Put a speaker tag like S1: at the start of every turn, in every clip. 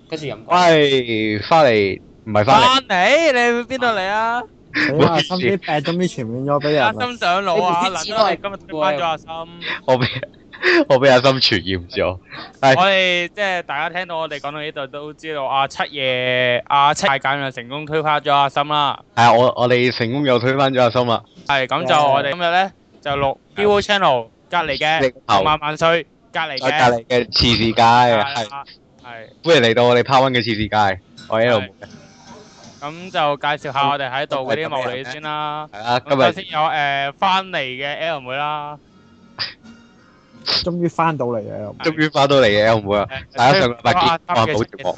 S1: 跟住飲過。
S2: 喂，翻嚟唔係翻嚟，
S3: 翻嚟，你去邊度嚟啊？
S4: 死啦！心啲病終於傳染咗俾人
S3: 阿
S4: 啦。
S3: 心上腦啊！難得我哋今日推翻咗阿心。
S2: 我俾我俾阿心傳染咗。係
S3: 我哋即係大家聽到我哋講到呢度都知道阿七大簡就成功推翻咗阿心啦。
S2: 係啊，我哋成功又推翻咗阿心啦。
S3: 係咁就我哋今日咧就錄 Vivo Channel 隔離嘅萬歲隔離
S2: 我隔
S3: 嘅
S2: 離嘅次世界係
S3: 係
S2: 歡迎嚟到我哋 Part One 嘅次世界，我喺度。
S3: 咁就介紹下我哋喺度嗰啲幕女先啦。
S2: 係啊，今日
S3: 咁首先有翻嚟嘅 L 妹啦。
S4: 終於翻到嚟嘅。
S2: 終於翻到嚟嘅 L 妹啊！大家上個禮拜見我係冇直播。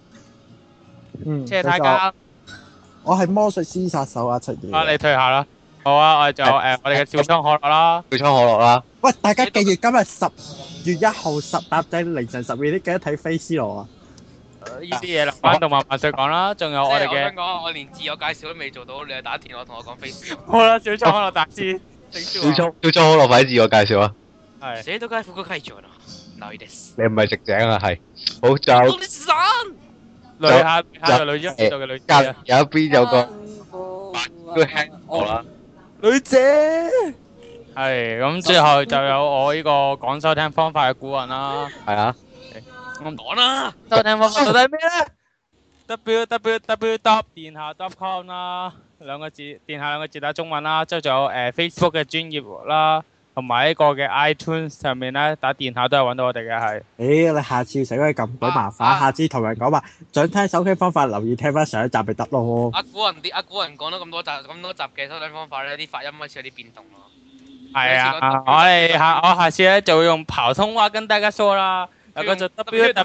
S3: 謝太監。
S4: 我係魔術師殺手啊，七爺。
S3: 啊，你退下啦。好啊，我哋就我哋嘅小倉可樂啦。
S2: 小倉可樂啦。
S4: 喂，大家記住今日10月1號搭正凌晨12點記得睇《飛斯羅》啊！
S3: 呢啲嘢留翻動漫萬歲講啦，仲有我哋嘅。
S5: 我想講，我連自我介紹都未做到，你就打電話同我講 face。
S3: 好啦，小倉可樂達斯。
S2: 小倉可樂快啲自我介紹啊！
S3: 係。
S5: 寫到街副個雞咗啦，嗱呢
S2: 你唔係食井啊？係。好就。
S3: 女下個女仔度嘅女
S2: 隔
S3: 仔啊。
S2: 有一邊有個都輕我啦。
S3: 女姐。係咁，最後就有我呢個講收聽方法嘅古人啦。
S2: 係啊。
S5: 我講啦，
S3: 收聽方法到底係咩咧？www. 電下 .com 啦，兩個字，電下兩個字打中文啦，之後仲有Facebook 嘅專頁啦，同埋呢個嘅 iTunes 上面咧打電下都係揾到我哋嘅係。
S4: 你下次使鬼咁鬼麻煩，下次同人講話想聽收聽方法，留意聽翻上一集咪得咯。
S5: 阿古人講咗咁多集嘅收聽方法咧，啲發音開始有啲變動咯。
S3: 係啊，我下次咧就會用普通話跟大家說啦。有個就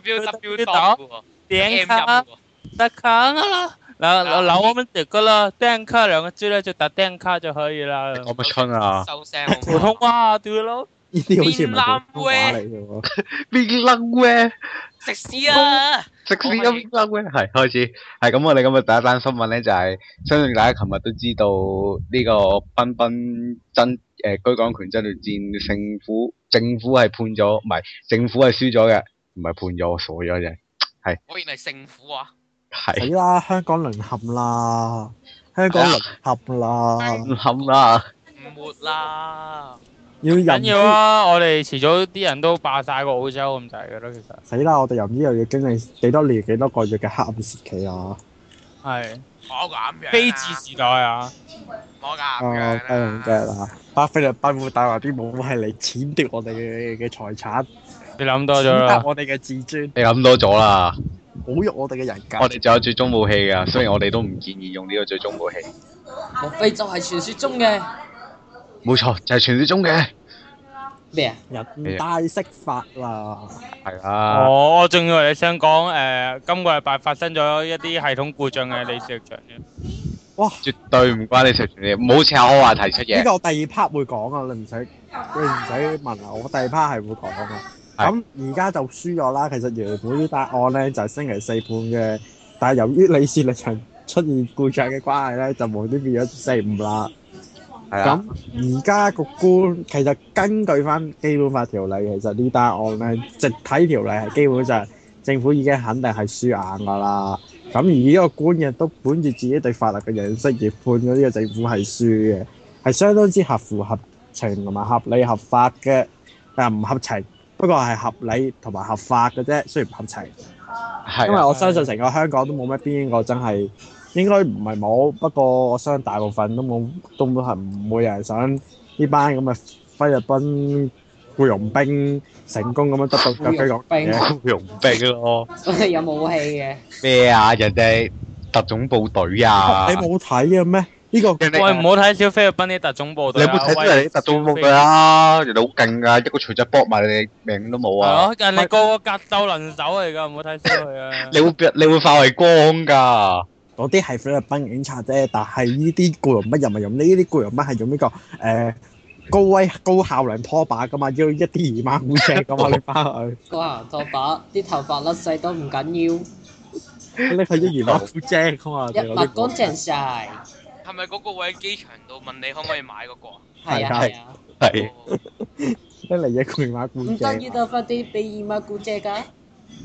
S3: www. 點卡得卡啦，嗱我們這個啦，點卡兩個字咧就打點卡就可以啦。
S2: 講乜春啊？
S5: 收聲。
S3: 普通話對咯。
S4: 呢啲好似唔係普通話嚟嘅喎。
S2: 邊撚咩？
S5: 食屎啊！
S2: 食屎啊！邊撚咩？係開始係咁，我哋今日第一單新聞咧就係，相信大家琴日都知道呢個賓賓居港權爭奪戰政府係判咗，唔係政府係輸咗嘅，唔係判咗，我傻咗啫。係。
S5: 果然係勝府啊！
S4: 死
S2: 係。
S4: 啦！香港淪陷啦！香港淪陷啦！
S2: 冧啦！
S5: 唔活啦！
S4: 要
S3: 緊要啊！我哋遲早啲人都霸晒個澳洲咁滯嘅咯，其實。
S4: 死啦！我哋又唔知又要經歷幾多年幾多個月嘅黑暗時期啊！
S3: 係。
S5: 冇咁樣。
S3: 飛字時代啊！
S5: 冇咁樣。
S4: 低能嘅啦！巴菲特賓會帶話啲武係嚟踐奪我哋嘅財產，
S3: 你諗多咗
S4: 踐踏
S3: 啦。
S4: 我哋嘅自尊，
S2: 你諗多咗啦！
S4: 侮辱我哋嘅人格。
S2: 我哋仲有最終武器㗎，雖然我哋都唔建議用呢個最終武器。
S1: 莫非就係傳說中嘅
S2: 冇錯，就係傳説中嘅。
S1: 咩啊？
S4: 人大釋法啦！
S2: 係啊。
S3: 我仲以為你想講今個禮拜發生咗一啲系統故障嘅李小強啫。
S4: 哇！
S2: 絕對唔關你食全嘢，唔好扯我話題出嘢。
S4: 呢個我第二 part 會講啊，你唔使問啊，我第二 part 係會講啊。咁而家就輸咗啦。其實原本呢單案咧就係星期四判嘅，但係由於李氏力場出現故障嘅關係咧，就無端變咗星期五啦。咁而家個官其實根據翻基本法條例，其實呢單案咧，直體條例係基本上政府已經肯定係輸硬㗎啦。咁而呢個官亦都本住自己對法律嘅認識而判咗呢個政府係輸嘅，係相當之合乎合情同埋合理合法嘅，但唔合情，不過係合理同埋合法嘅啫，雖然唔合情。
S2: 係。
S4: 因為我相信成個香港都冇乜邊個真係。應該唔係冇，不過我相信大部分都冇，都係唔會有人想呢班咁嘅菲律賓僱傭兵成功咁樣得到居港嘅
S2: 僱傭兵咯。
S1: 有武器嘅。
S2: 咩啊？人哋特種部隊啊！
S4: 你冇睇嘅咩？呢個
S3: 喂，唔好睇小菲律賓啲特種部隊。
S2: 你有冇睇到人哋特種部隊啊？人哋好勁㗎，一個錘仔搏埋你命都冇啊！
S3: 係咯，人哋個個格鬥能手嚟㗎，唔好睇小佢啊！
S2: 你會化為光㗎。
S4: 嗰啲係菲律賓警察啫，但係呢啲僱傭兵又唔係用呢啲僱傭兵係用呢個高效能拖把噶嘛，要一啲姨媽姑姐噶嘛，你翻去。
S1: 高效能拖把，啲頭髮甩細都唔緊要，
S4: 你係一姨媽姑姐噶嘛？
S1: 一抹乾淨晒。
S5: 係咪嗰個會喺機場度問你可唔可以買嗰個啊？
S1: 係啊係啊。
S2: 係。
S4: 一嚟一個姨媽姑姐。
S1: 唔得，要多翻啲俾姨媽姑姐㗎。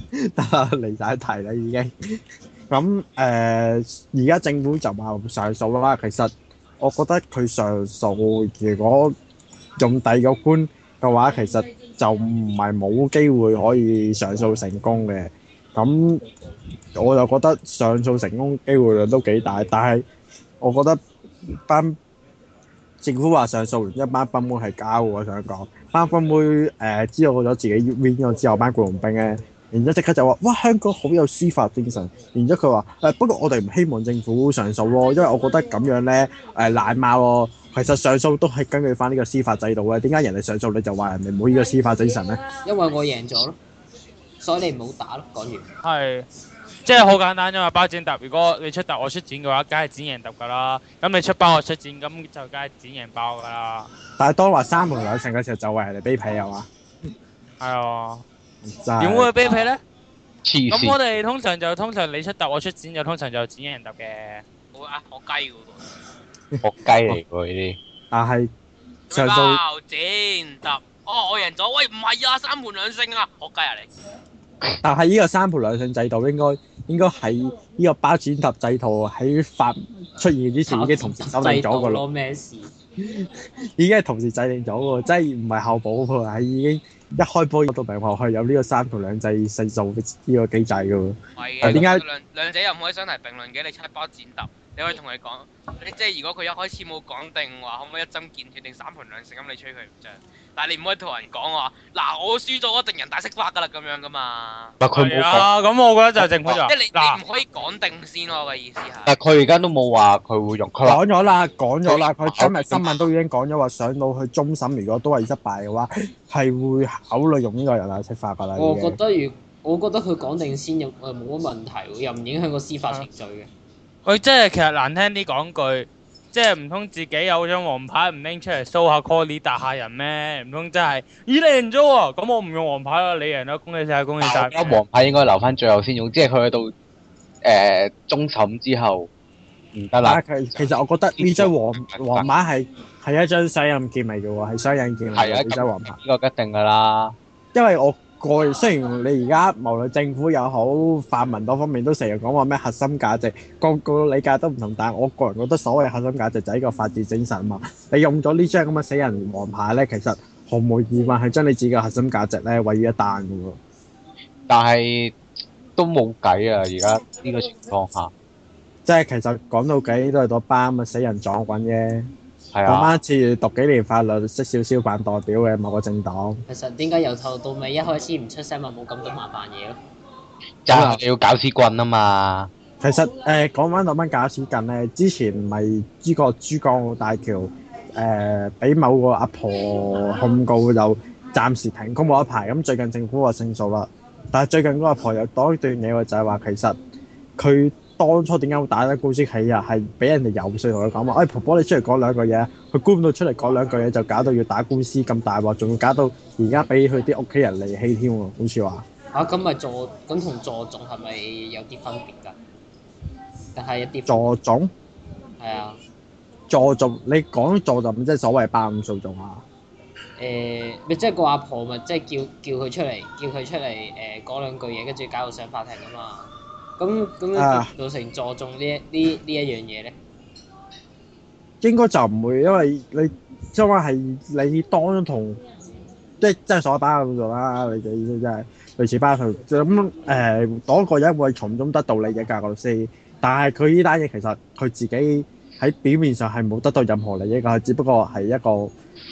S4: 得啦，離晒題啦已經。咁而家政府就話上訴啦。其實我覺得佢上訴，如果用第二個官嘅話，其實就唔係冇機會可以上訴成功嘅。咁我就覺得上訴成功機會率都幾大，但係我覺得班政府話上訴完一班賓妹係交喎，我想講班賓妹知道咗自己 win 咗之後，班僱傭兵咧，然之後即刻就話：哇，香港好有司法精神。然之後佢話不過我哋唔希望政府上訴咯，因為我覺得咁樣咧賴貓咯。其實上訴都係根據翻呢個司法制度嘅，點解人哋上訴你就話人哋冇呢個司法精神咧？
S1: 因為我贏咗咯，所以你唔好打咯。講完。
S3: 係，即係好簡單啫嘛，包剪揼。如果你出揼我出剪嘅話，梗係剪贏揼噶啦。咁你出包我出剪，咁就梗係剪贏包噶啦。
S4: 但係當話三盤兩勝嘅時候，就為人哋卑鄙係嘛？
S3: 係啊，
S4: 真係
S3: 點會卑鄙咧？
S2: 黐
S3: 咁我
S2: 線，
S3: 哋通常你出揼我出剪，就通常就剪贏揼嘅。
S5: 好啊，學雞嘅喎。
S2: 學雞嚟喎呢啲。
S4: 但係上訴
S5: 包剪揼，哦，我贏咗。喂，唔係啊，三盤兩勝啊，學雞啊你。
S4: 但係呢個三盤兩勝制度應該喺呢個包剪揼制度喺法出現之前已經同時修訂咗個咯，
S1: 咩事？
S4: 已經係同時制定咗喎，即係唔係後補喎，係已經一開波到明學係有呢個三盤兩制勝訴呢個機制嘅喎。
S5: 係嘅，
S4: 但係點解
S5: 兩者又唔可以相提並論嘅？你出包剪揼，你可以同佢講，你即係如果佢一開始冇講定話，可唔可以一針見血定三盤兩勝咁，你吹佢唔脹。但係你唔可以同人講話，嗱我輸咗，一定人大釋法㗎啦咁樣㗎嘛。
S2: 唔係佢冇講，
S3: 係啊，咁我覺得就係政府就話
S5: 即係你
S3: 嗱
S5: 唔可以講定先咯，我嘅意思係。
S2: 但係佢而家都冇話佢會用，佢話
S4: 講咗啦，佢今日新聞都已經講咗話，上到去終審，如果都係失敗嘅話，係會考慮用呢個人大釋法㗎啦。
S1: 我
S4: 已經
S1: 覺得佢講定先又冇乜問題喎，又唔影響個司法程序嘅。
S3: 佢即係其實難聽啲講句，即係唔通自己有張黃牌唔拎出嚟 show 下 call 你打下人咩？唔通真係咦你贏咗喎？咁我唔用黃牌啦，你贏啦，恭喜晒，恭喜晒！
S2: 而家黃牌應該留翻最後先用，即係佢去到終審之後唔得啦。
S4: 其實我覺得呢張黃牌係一張雙刃劍嚟嘅喎，係雙刃劍嚟
S2: 係啊，
S4: 嘅呢張黃牌。
S2: 呢個一定㗎啦。
S4: 因為我個人雖然你而家無論政府又好，泛民多方面都成日講話咩核心價值，個理解都唔同，但係我個人覺得所謂核心價值就係一個法治精神嘛。你用咗呢張咁嘅死人黃牌咧，其實毫無疑問係將你自己嘅核心價值咧毀於一旦嘅喎。
S2: 但係都冇計啊！而家呢個情況下，
S4: 即係其實講到底都係嗰班咁嘅死人撞棍啫。嗰
S2: 係啊，
S4: 班似讀幾年法律、識少少扮代表嘅某個政黨。
S1: 其實點解由頭到尾一開始唔出聲咪冇咁多麻煩嘢咯？
S2: 就係你要搞屎棍啊嘛！
S4: 其實講翻嗰班假屎棍咧，之前咪呢個珠江澳大橋俾某個阿婆控告，就暫時停工冇一排。咁最近政府話勝訴啦，但係最近嗰個阿婆又講一段嘢喎，就係話其實佢當初點解會打得官司起啊？係俾人哋游説同佢講話，哎婆婆你出嚟講兩句嘢，佢估唔到出嚟講兩句嘢就搞到要打官司咁大鑊，仲要搞到而家俾佢啲屋企人離棄添喎，好似話。
S1: 咁咪咁同助訟係咪有啲分別㗎？定係一啲
S4: 助訟？
S1: 係啊。
S4: 助訟，你講助訟即係所謂霸佔訴訟啊？
S1: 咪即係個阿婆咪即係叫佢出嚟，講兩句嘢，跟住搞到上法庭啊嘛。咁造成助訟呢一樣嘢咧？
S4: 應該就唔會，因為你即係話係你當同即係所謂霸佔訴訟啦，你嘅意思即係類似霸佔咁嗰個人會從中得到利益㗎個律師，但係佢呢單嘢其實佢自己喺表面上係冇得到任何利益㗎，只不過係一個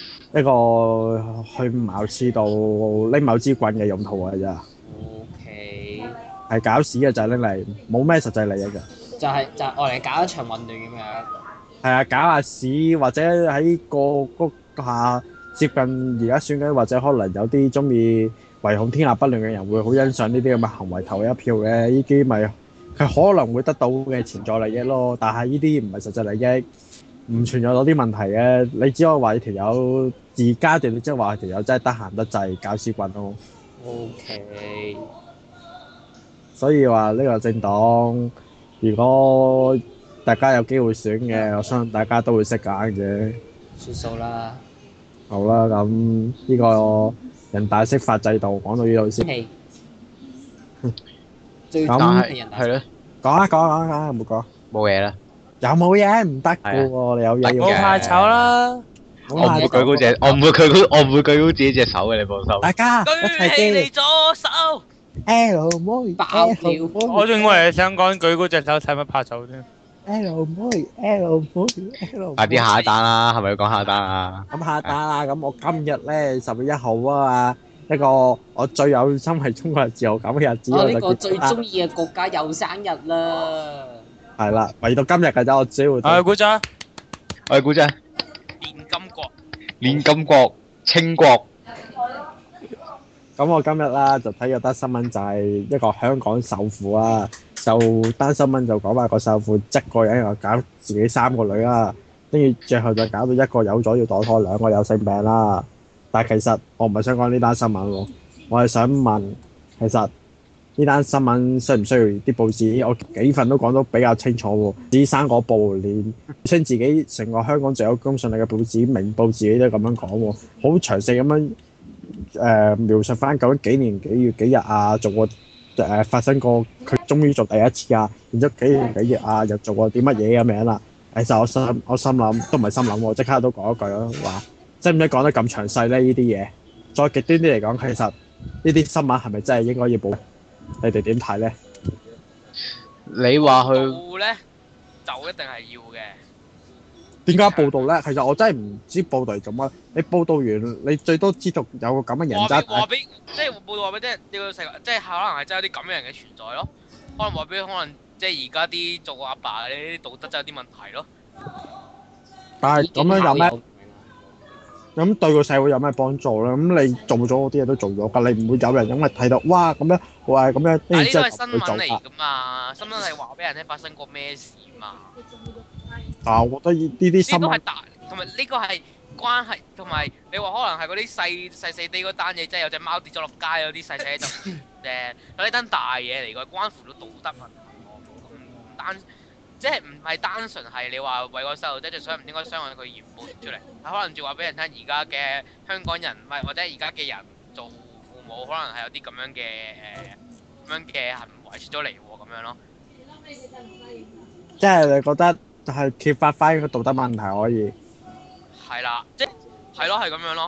S4: 去茅廁度拎某支棍嘅用途㗎咋。
S1: OK。
S4: 係搞屎嘅就係拎嚟，冇咩實際利益嘅。
S1: 就係愛嚟搞一場混亂咁樣。
S4: 係啊，搞下屎或者喺個下接近而家選舉，或者可能有啲中意唯恐天下不亂嘅人會好欣賞呢啲咁嘅行為投一票嘅，呢啲咪係可能會得到嘅潛在利益咯。但係呢啲唔係實際利益，唔存在到啲問題嘅。你只可以話條友而家段，你即係話條友真係得閒得滯搞屎棍咯。
S1: OK。
S4: 所以話呢個政黨，如果大家有機會選嘅，我相信大家都會識揀嘅。
S1: 算數啦。
S4: 好啦，咁呢個人大釋法制度講到呢度先。
S1: 係。 最
S4: 咁
S1: 憎係人大
S2: 係咯，
S4: 講有冇講？
S2: 冇嘢啦。
S4: 有冇嘢唔得嘅喎？你有嘢要
S3: 冇怕醜啦，
S2: 我唔會舉高隻，我唔會舉高自己隻手嘅，你放心。
S4: 大家一
S5: 舉
S4: 齊
S5: 起你
S4: 嘅
S5: 左手，
S4: L 妹
S1: 爆
S4: L
S1: 料
S4: 妹
S3: 我仲以為你想講舉高隻手使乜怕醜添。
S4: L 妹 L 妹 L 妹。
S2: 快啲下一單啦，係咪要講下一單啊？
S4: 咁下單啦！咁我今日咧10月1號啊嘛，一個我最有心係中國人自豪感嘅日子，我就
S1: 我呢個最
S4: 結婚啦
S1: 中意嘅國家又生日啦！
S4: 係啦，唯到今日嘅啫，我只會
S3: 啊，鼓掌！
S2: 我哋估真，
S5: 練金國，
S2: 練金國、清國，
S4: 咁我今日啦就睇咗單新聞，就係一個香港首富啊，就單新聞就講話個首富一個人又搞自己3個女啦，跟住最後就搞到一個有咗要墮胎，2個有性病啦。但係其實我唔係想講呢單新聞喎，我係想問，其實呢單新聞需唔需要啲報紙？我幾份都講得比較清楚喎，只生果報連稱自己成個香港最有公信力嘅報紙明報自己都咁樣講喎，好詳細咁樣描述翻究竟幾年幾月幾日啊，做過發生過佢終於做第一次啊，然之後幾年幾月啊又做過啲乜嘢咁樣啦。其實我心諗都唔係心諗喎，即刻都講一句咯，話使唔使講得咁詳細咧？呢啲嘢再極端啲嚟講，其實呢啲新聞係咪真係應該要報？你哋點睇咧？
S2: 你話佢
S5: 報咧就一定係要嘅。
S4: 點解報道咧？其實我真係唔知報道係做乜。你報道完，你最多知道有個咁嘅人
S5: 話
S4: 渣
S5: 俾話俾，即係報道話俾即係呢個世界，即係可能係真係有啲咁嘅人嘅存在咯。可能話俾可能即係而家啲做阿爸嗰啲道德真係有啲問題咯。
S4: 但係咁樣有咩？咁對個社會有咩幫助咧？咁你做咗嗰啲嘢都做咗㗎，你唔會有人因為睇到哇咁樣，哇咁樣，
S5: 但係呢
S4: 之後
S5: 個係新聞
S4: 去做㗎。
S5: 嚟㗎嘛，新聞係話俾人聽發生過咩事嘛。
S4: 啊，我覺得呢啲新聞
S5: 呢個係大，同埋呢個係關係，同埋你話可能係嗰啲細啲嗰單嘢，即係有隻貓跌咗落街嗰啲細細就誒，呢單大嘢嚟㗎，關乎到道德問題喎，唔單即係唔係單純係你話為個細路仔就想唔應該傷害佢而報出嚟，係可能仲話俾人聽而家嘅香港人，唔係或者而家嘅人做父母，可能係有啲咁樣嘅行為出咗嚟喎，咁樣咯。
S4: 即係你覺得係揭發翻個道德問題可以
S5: 係啦，即係咯，係咁樣咯。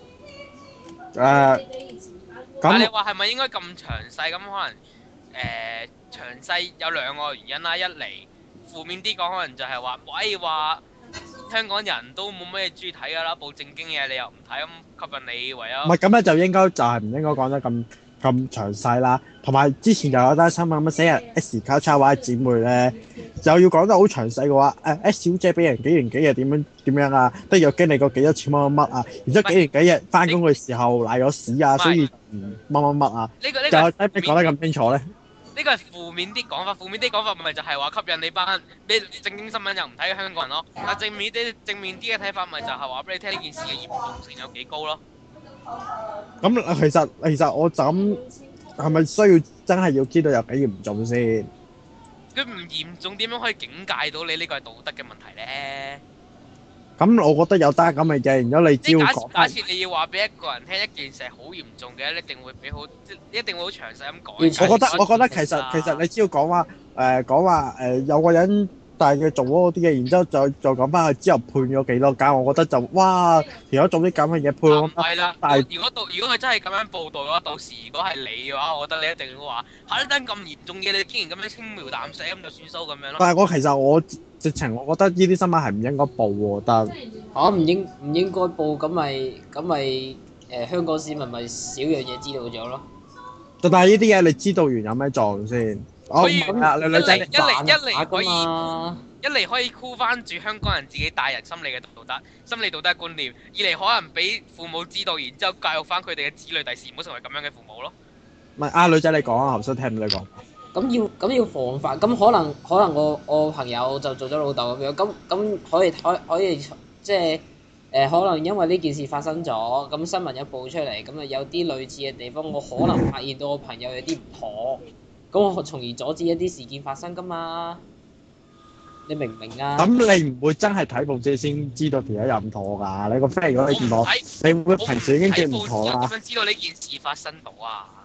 S5: 但係你
S4: 咁
S5: 話係咪應該咁詳細？咁可能詳細有兩個原因啦。一嚟負面啲講，可能就係話，喂話香港人都冇咩中意睇㗎啦，報正經嘢你又唔睇，咁吸引你唯有
S4: 唔係咁咧，就應該就係唔應該講得咁詳細啦。同埋之前就有單新聞乜死人 S 交叉位姊妹咧，就要講得好詳細嘅話，S 小姐俾人幾年幾日點樣啊，都有經歷過幾多次乜啊，然之後幾年幾日翻工嘅時候賴咗屎啊，所以乜啊，
S5: 呢個
S4: 就使唔使講得咁清楚咧？
S5: 呢個係負面啲講法，負面啲講法咪就係話吸引你班你正經新聞又唔睇嘅香港人咯。但正面啲嘅睇法咪就係話俾你聽呢件事嘅嚴重性有幾高咯。
S4: 咁其實我就咁係咪需要真係要知道有幾嚴重先？
S5: 佢唔嚴重點樣可以警戒到你呢個係道德嘅問題咧？
S4: 咁我覺得有單咁嘅嘢，然之後你只
S5: 即係
S4: 要講
S5: 假設你要話俾一個人聽一件事係好嚴重嘅，一定會俾好，一定會好詳細咁講。
S4: 我覺得其實你只要講話有個人但係佢做嗰啲嘢，然之後再講翻佢之後判咗幾多間，我覺得就哇，如果做啲咁嘅嘢判
S5: 唔係啦，
S4: 但係
S5: 如果佢真係咁樣報導嘅話，到時如果係你嘅話，我覺得你一定會話嚇呢單咁嚴重嘅，你竟然咁樣輕描淡寫咁就算數咁樣咯。
S4: 但係其實我直情我覺得呢啲新聞係唔應該報喎，但
S1: 嚇唔應該報，咁咪香港市民咪少樣嘢知道咗咯。
S4: 係呢啲嘢你知道完有咩作用先？
S5: 可以
S4: 女仔
S5: 一嚟可以箍翻住香港人自己大人心理嘅道德、心理道德觀念；二嚟可能俾父母知道，然之後教育翻佢哋嘅子女，第時唔好成為咁樣嘅父母咯。
S4: 唔係女仔你講啊，頭先聽唔到你講。
S1: 咁要防範，咁可能我朋友就做咗老豆咁樣，咁可以即係可能因為呢件事發生咗，咁新聞一報出嚟，咁啊有啲類似嘅地方，我可能發現到我朋友有啲唔妥，咁我從而阻止一啲事件發生噶嘛。你明唔明啊？
S4: 咁你唔會真係睇報紙先知道條友有唔妥㗎？你個 friend 如果你唔妥，你會平時已經知唔妥啦。
S5: 點樣知道呢件事發生到啊？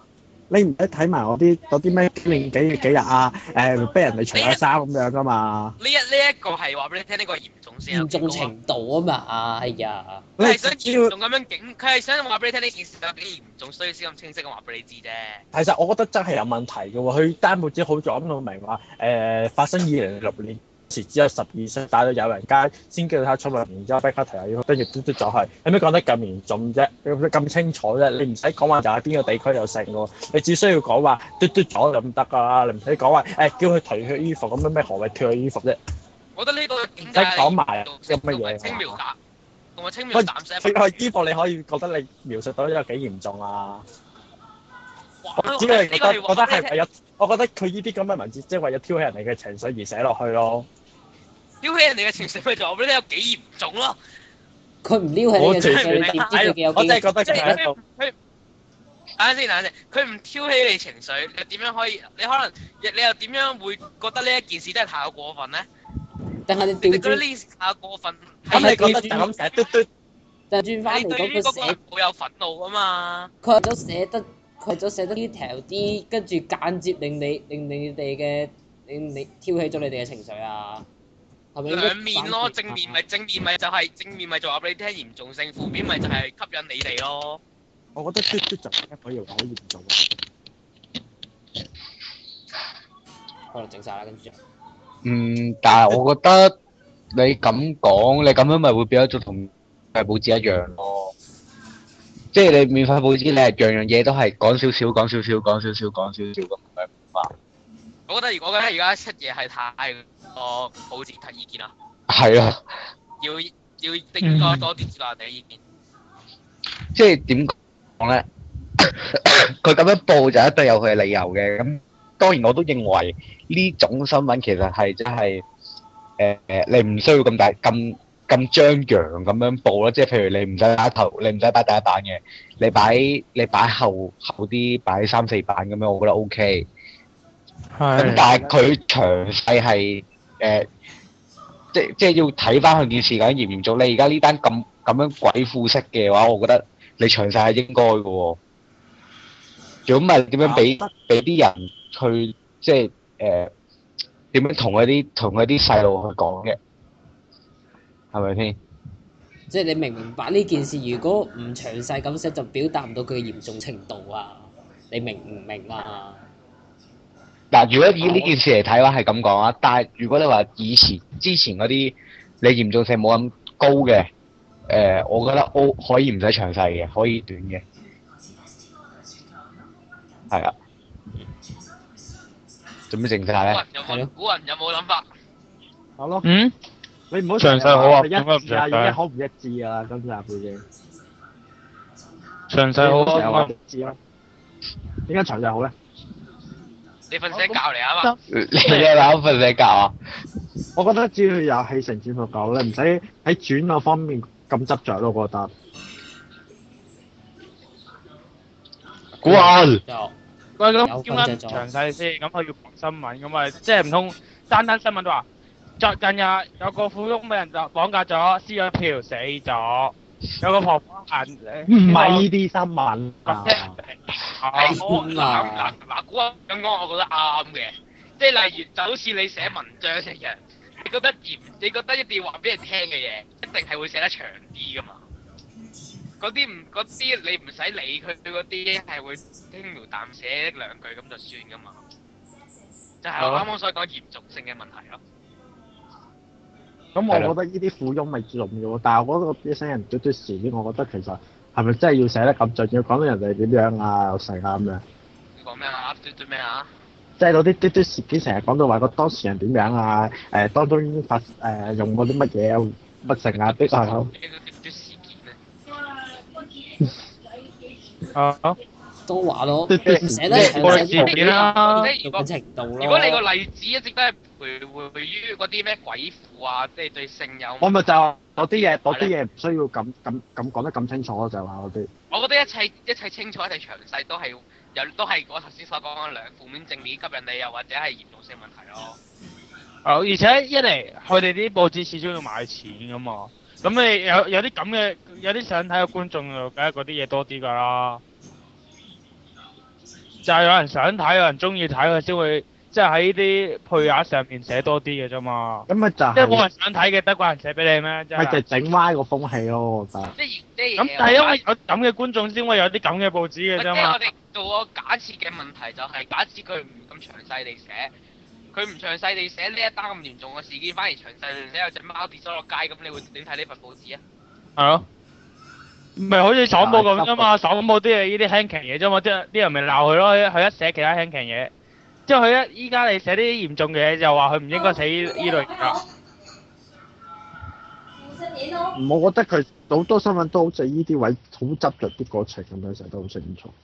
S4: 你唔使睇埋我啲咩紀念幾日啊，逼人哋除下衫咁樣噶嘛。
S5: 呢一個係話俾你聽，呢個嚴重先有
S1: 嚴重
S5: 幾高啊！
S1: 程度啊嘛，係啊，
S5: 佢係想嚴重咁樣警，佢係想話俾你聽呢件事有幾嚴重，所以先咁清晰咁話俾你知啫。
S4: 其實我覺得真係有問題嘅喎，佢單報紙好講到明話，發生2006年時只有12歲，帶到有人街先叫佢出嚟，然之後逼佢提下要跟住嘟嘟咗去，有咩講得咁嚴重啫？咁清楚啫？你唔使講話就喺邊個地區有成喎，你只需要講話嘟嘟咗就咁得㗎啦，你唔使講話叫佢除佢衣服咁樣咩何謂脱佢衣服啫？
S5: 我覺得呢個
S4: 唔使講埋有乜嘢
S5: 輕描淡，同埋輕描淡寫。
S4: 佢個衣服你可以覺得你描述到有幾嚴重啊？
S5: 哇
S4: 我只係覺得係為
S5: 呢
S4: 咗，我覺得佢呢啲咁嘅文字，即係為咗挑起人哋嘅情緒而寫落去咯。
S5: 撩起人哋嘅情緒咪就話俾你聽有幾嚴重咯。
S1: 佢唔撩起你嘅情緒，你點知佢有幾？
S4: 我真係覺得佢喺度。
S5: 等陣先，佢唔挑起你情緒，你點樣可以？你可能你又點樣會覺得呢一件事真係太過過分咧？
S1: 但係你
S5: 你覺得
S1: 調轉，
S5: 呢件事太過分？
S4: 咁你覺得就咁寫嘟嘟？
S1: 但係轉翻嚟
S5: 你對於嗰個
S1: 講佢寫，
S5: 好有憤怒啊嘛！
S1: 佢為咗寫得 detail 啲，跟住間接令你哋令你挑起咗你哋嘅情緒啊，係咪應該
S5: 兩面咯，正面咪就話俾你聽嚴重性，負面咪就係吸引你哋咯。
S4: 我覺得嘟嘟就可以話好嚴重。
S1: 可能整晒啦，跟住就
S2: 但係我覺得你咁講，你咁樣咪會變咗做同報紙一樣咯。即係你免費報紙，你係樣樣嘢都係講少少咁樣嘛。
S5: 我覺得如果而家出嘢係太多報紙提意見啦，
S2: 係啊，
S5: 要應該多啲接納人哋嘅意見。
S2: 即係點講咧？佢咁樣報就一定有佢嘅理由嘅。咁當然我都認為呢種新聞其實係真係你唔需要咁張揚咁樣報咯。即係譬如你唔使擺頭，你唔使擺第一版嘅，你擺後啲，擺3、4版咁樣，我覺得 OK。咁但係佢詳細係即係要睇翻佢件事究竟嚴唔嚴重。你而家呢單咁樣鬼副式嘅話，我覺得你詳細係應該嘅喎。如果唔係點樣俾啲人去即係點樣同嗰啲細路去講嘅，係咪先？
S1: 即係你明白呢件事，如果唔詳細咁寫，就表達唔到佢嘅嚴重程度啊！你明唔明啊？
S2: 嗱，如果以呢件事嚟睇嘅話係咁講啊，但係如果你話之前嗰啲你嚴重性冇咁高嘅，我覺得可以唔使詳細嘅，可以短嘅，係啊。做咩靜晒咧？
S5: 古人有冇諗法？
S4: 好咯。
S3: 嗯？
S4: 你唔好
S2: 詳細好啊，
S4: 一致啊，已經好唔一致啊，今集已經。
S3: 詳細好
S4: 成日話
S3: 啊，
S4: 一致咯。點解詳細好咧？
S5: 你瞓醒覺嚟啊嘛？
S2: 你嘅諗瞓醒覺啊？
S4: 我覺得只要有起承轉合夠咧，唔使喺轉嗰方面咁執着咯，我覺得。
S2: 古人
S1: 就
S3: 喂，咁
S1: 有
S3: 點解
S1: 分析咗
S3: 詳細先？咁佢要講新聞，咁咪即係唔通單新聞都話，近日有個富翁俾人就綁架咗，撕咗票死咗，有個婆婆行
S4: 唔係呢啲新聞啊。
S5: 嗱，古人咁講，我覺得啱嘅。即係例如，就好似你寫文章一樣，你覺得一定要話俾人聽嘅嘢，一定係會寫得長啲噶嘛。嗰啲你唔使理佢嗰啲，係會輕描淡寫一兩句咁就算噶嘛。就係我啱啱所講嚴重性嘅問題咯。
S4: 咁我覺得呢啲富翁咪重要，但係我覺得啲新人嘟嘟事件，我覺得其實係咪真係要寫得咁盡，要講到人哋點樣啊，又成啊咁樣。
S5: 你講咩啊？嘟咩啊？
S4: 即係嗰啲嘟嘟事件成日講到話個當事人點樣啊，當中已經用過啲乜嘢乜成啊的啊咁。
S5: 嘟事件
S3: 啊，
S1: 都話咯，
S4: 嘟嘟
S1: 寫得詳細
S3: 事件啦，
S5: 即係
S1: 嘅程度咯。
S5: 如果你個例子一直都係徘徊於嗰啲咩鬼父啊，即係對性有，
S4: 我咪就話嗰啲嘢唔需要咁講得咁清楚咯，就係話嗰啲。
S5: 我覺得一切清楚一切詳細都係我頭先所講嘅兩負面正面吸引你，又或者係嚴重性問題咯。
S3: 而且一嚟佢哋啲報紙始終要賣錢噶嘛，咁你有啲咁嘅有啲想睇嘅觀眾就梗係嗰啲嘢多啲㗎啦。 就係有人想睇，有人中意睇，佢先會即係喺呢啲配額上面寫多啲嘅啫嘛。
S4: 咁咪就
S3: 即係冇
S4: 係
S3: 人想睇嘅，得個人寫俾你咩？真
S4: 咪就係
S3: 係。
S4: 整歪個風氣咯，我覺得。
S5: 即係
S3: 咁但係因為有咁嘅觀眾先會有啲咁嘅報紙嘅啫嘛
S5: 即係我。哋做個假設嘅問題就係假設佢唔咁詳細地寫，佢唔詳細地寫呢一單咁嚴重嘅事件，反而詳細地寫有隻貓跌咗落街，咁你會點睇呢份報紙啊？
S3: 係咯。咪好似爽報咁啫嘛，爽報啲係呢啲輕騎嘢啫嘛，即係啲人咪鬧佢咯，佢一寫其他輕騎嘢，之後佢依家你寫啲嚴重嘅嘢就話佢唔應該寫呢類嘢啦。
S4: 我覺得佢好多新聞都好似呢啲位好執着啲過程咁樣，成日都好清楚。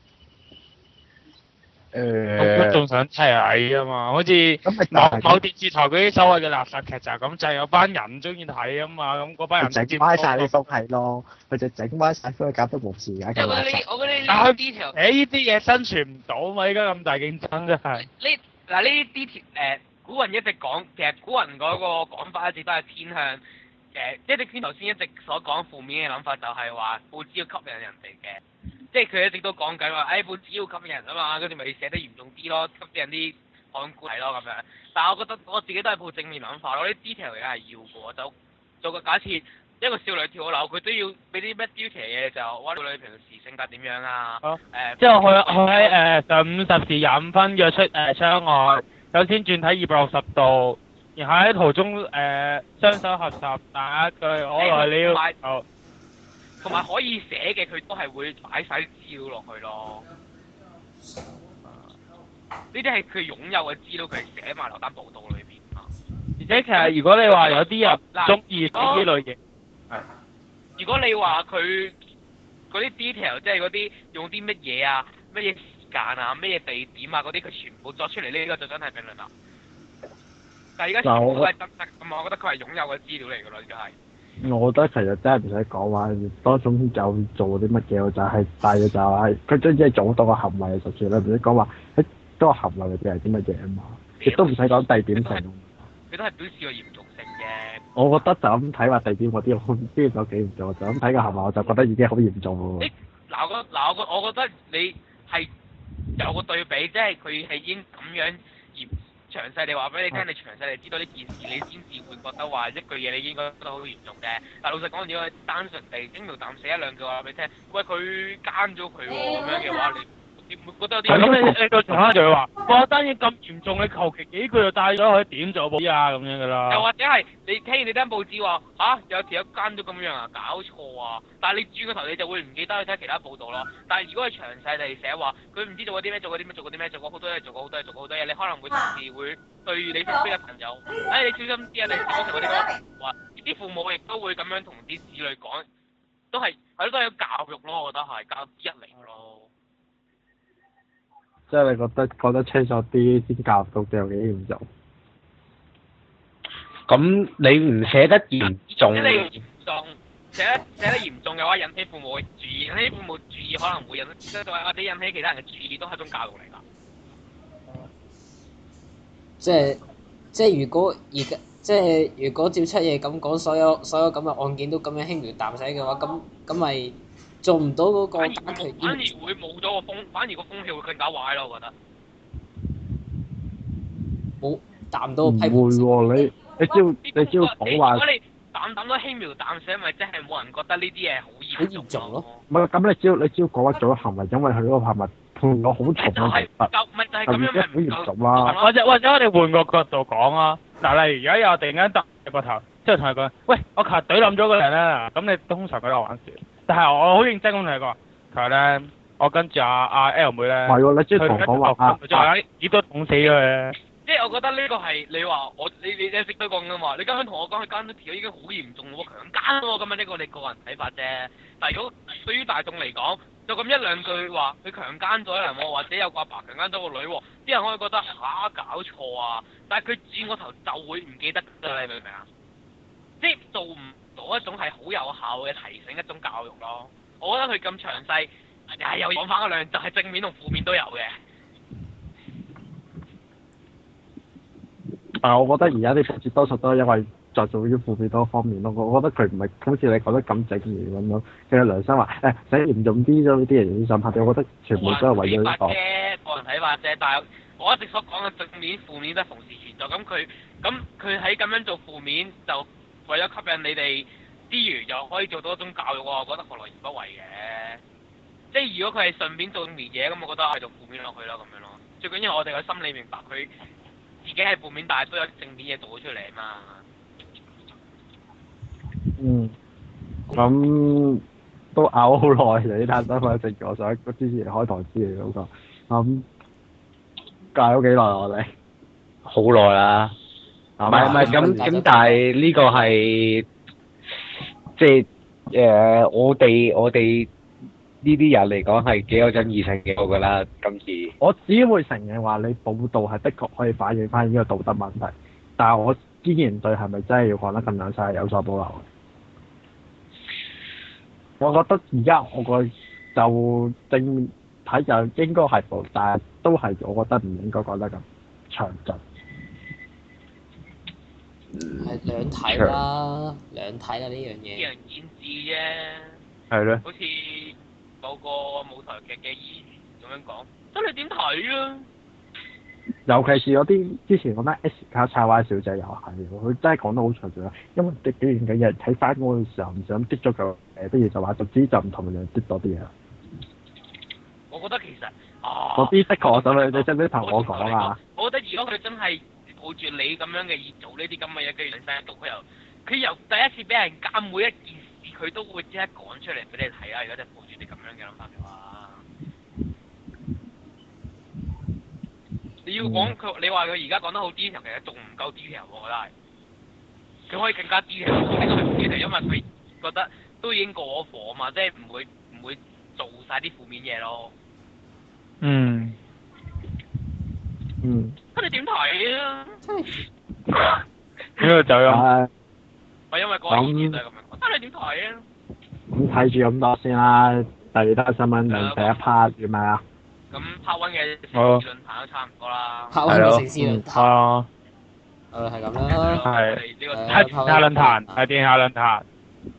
S3: 咁仲想睇啊嘛，好似某電視台嗰啲所謂嘅垃圾劇就係咁，就係有班人中意睇啊嘛，咁嗰班人
S4: 整歪晒啲風氣咯，佢就整歪晒風氣，搞得冇事而家咁垃圾。
S5: 我覺得
S3: 但係
S5: 呢啲條
S3: 呢啲嘢生存唔到啊嘛，依家咁大競爭真係。
S5: 呢啲條古人一直講，其實古人嗰個講法一直都係偏向即係你頭先一直所講負面嘅諗法，就係話報紙要吸引人哋嘅。即係佢一直都講緊話，報紙要吸引人啊嘛，跟住咪寫得嚴重啲咯，吸引人啲看官睇咯咁樣。但係我覺得我自己都係抱正面諗法咯，啲 detail 嘢係要嘅，就做個假設，一個少女跳樓，佢都要俾啲咩 detail 嘢就話少女平時性格點樣啊？
S3: 之後佢喺上午10時25分約出窗外，首先轉體260度，然後喺途中雙手合十打一句我來了。
S5: 同埋可以寫嘅，佢都係會擺晒啲資料落去咯。呢啲係佢擁有嘅資料，佢係寫埋落單報道裏邊。
S3: 而且其實如果你話有啲人中意呢類型，
S5: 如果你話佢嗰啲 detail，即係嗰啲用啲乜嘢啊、乜嘢時間啊、乜嘢地點啊嗰啲，佢全部作出嚟，呢個就真係評論啦。但係而家全部都係真實咁，我覺得佢係擁有嘅資料嚟㗎啦，而家係。
S4: 我覺得其實真係唔使講話，多種有做啲乜嘢，就係大嘅就係佢真係做到個行為就算啦，唔使講話嗰個行為入邊係啲乜嘢啊嘛，亦都唔使講地點性。
S5: 佢都係表示個嚴重性嘅。
S4: 我覺得就咁睇話地點嗰啲，我邊有幾嚴重？就咁睇個行為，我就覺得已經好嚴重喎。
S5: 我覺得你係有個對比，即係佢係已經咁樣詳細地話俾你聽，你詳細地知道呢件事，你先至會覺得話一句嘢你應該覺得好嚴重嘅。但老實講，如果單純地輕描淡寫一兩句話俾你聽，喂佢奸咗佢喎咁樣嘅話，你會覺得有啲
S3: 係咁你到時刻就會話，哇單嘢咁嚴重，你求其幾句就帶咗佢點做報紙啊咁樣㗎啦。
S5: 又或者係你聽完你單報紙話有條友奸咗咁樣啊，搞錯啊！但係你轉個頭你就會唔記得去睇其他報道咯。但係如果係詳細地寫話，佢唔知做過啲咩，做過啲咩，做過啲咩，做過好多嘢，做過好多嘢，做過好多嘢，你可能會同時會對你身邊嘅朋友，你小心啲啊！你小心嗰啲話，啲父母亦都會咁樣同啲子女講，都係都係有教育咯，我覺得係教育之一嚟咯。
S4: 即係你覺得講得清楚啲先教育到有幾嚴重？
S2: 咁你唔寫得嚴重，
S5: 寫得嚴重嘅話，引起父母嘅注意，引起父母注意可能會或者引起其他人嘅注意，都係一種教育嚟㗎。
S1: 即係如果而家如果照出嘢咁講，所有咁嘅案件都咁樣輕描淡寫嘅話，咁咪做唔到嗰個打擊。
S5: 反而會冇咗個風，反而個風氣會更加壞咯，我覺得。
S1: 冇達唔到批判。
S4: 唔會喎，你只要講話。
S5: 如果你淡都輕描淡寫，咪即係冇人覺得呢啲嘢好嚴重咯。
S4: 唔係咁，你只要講話做咗行為，因為佢嗰個行為判咗好重嘅刑罰，就已經好嚴重啦。
S3: 或者我哋換個角度講啊，嗱，例如而家有突然間揼個頭，之後同佢講，喂，我琴日懟冧咗個人啦，咁你通常覺得我玩笑，但係我好認真咁同你講，琴日咧，我跟住阿 L 妹咧，
S4: 唔係喎，你即係同講話
S3: 就係葉都捅死咗佢。
S5: 即係我覺得呢個係你話你一直都講㗎嘛，你啱啱同我講佢奸咗條已經好嚴重喎，強姦喎，咁啊呢個你個人睇法啫。但係如果對於大眾嚟講，就咁一兩句話，佢強姦咗人喎，或者有個阿爸強姦咗個女喎，啲人可以覺得搞錯啊，但係佢轉個頭就會唔記得㗎，你明唔明啊？即係做唔到一種係好有效嘅提醒，一種教育咯。我覺得佢咁詳細，又講翻嗰兩就係正面同負面都有嘅。
S4: 但係我覺得而家啲報紙多數都係因為着重於負面多方面咯。我覺得佢唔係好似你講得咁正面咁樣。佢有良心話寫嚴重啲咗呢啲人先想拍，我覺得全部都係為咗呢個。
S5: 個人睇法啫。但係我一直所講嘅正面、負面都係同時存在。咁佢喺咁樣做負面，就為咗吸引你哋之餘，又可以做到一種教育，我覺得何樂而不為嘅。即係如果佢係順便做正面嘢，咁我覺得係做負面落去啦，咁樣咯。最緊要我哋個心理明白佢自己係負面，但係都有正面嘢做咗出嚟啊嘛。
S4: 嗯，咁都拗好耐嚟呢單新聞，正如我想之前開台之嚟嗰個，隔咗幾耐我哋？
S2: 好耐啦。唔係咁，但係呢個係即係我哋呢啲人嚟講係幾有爭議性嘅，我覺得今次。
S4: 我只會承認話你報道係的確可以反映翻呢個道德問題，但係我依然對係咪真係要講得咁樣曬有所保留。我覺得而家我個就正面睇就應該係報，但係都係我覺得唔應該講得咁詳盡。
S1: 係兩睇啦，兩睇啦呢樣嘢。
S5: 見仁見智啫。
S2: 係咧。
S5: 好似某個舞台劇嘅演員咁樣講，咁你點睇啊？
S4: 尤其是嗰啲之前講咩 S 卡叉 Y 小姐又係，佢真係講得好詳盡啊！因為啲表現嘅人睇翻嗰個時候唔想滴咗個不如就話就知就唔同樣滴多啲嘢。
S5: 我覺得其實
S4: 嗰啲的確我想你真係同我講啊！
S5: 我覺得如果佢真係抱住你咁樣嘅意做呢啲咁嘅嘢，跟住兩世一讀，佢由第一次俾人監每一件事，佢都會即刻講出嚟俾你睇啊！如果真係抱住你咁樣嘅諗法嘅話，你要講佢，你話佢而家講得好 detail，其實仲唔夠 detail，我覺得係。佢可以更加 detail，呢個係 detail，因為佢覺得都已經過咗火啊嘛，即係唔會做晒啲負面嘢咯。
S3: 嗯。
S5: 咁你點睇啊？
S3: 呢個就咁。
S5: 我因為嗰個意見就係咁樣，我睇你點睇啊？
S4: 咁睇住咁多先啦，第二單新聞就第一 part 係咪啊？
S5: 咁 part one 嘅論壇都差唔多啦。
S1: part one 嘅城市論壇。
S3: 係啊。
S1: 係咁啦。
S3: 係。係電下論壇，係電下論壇。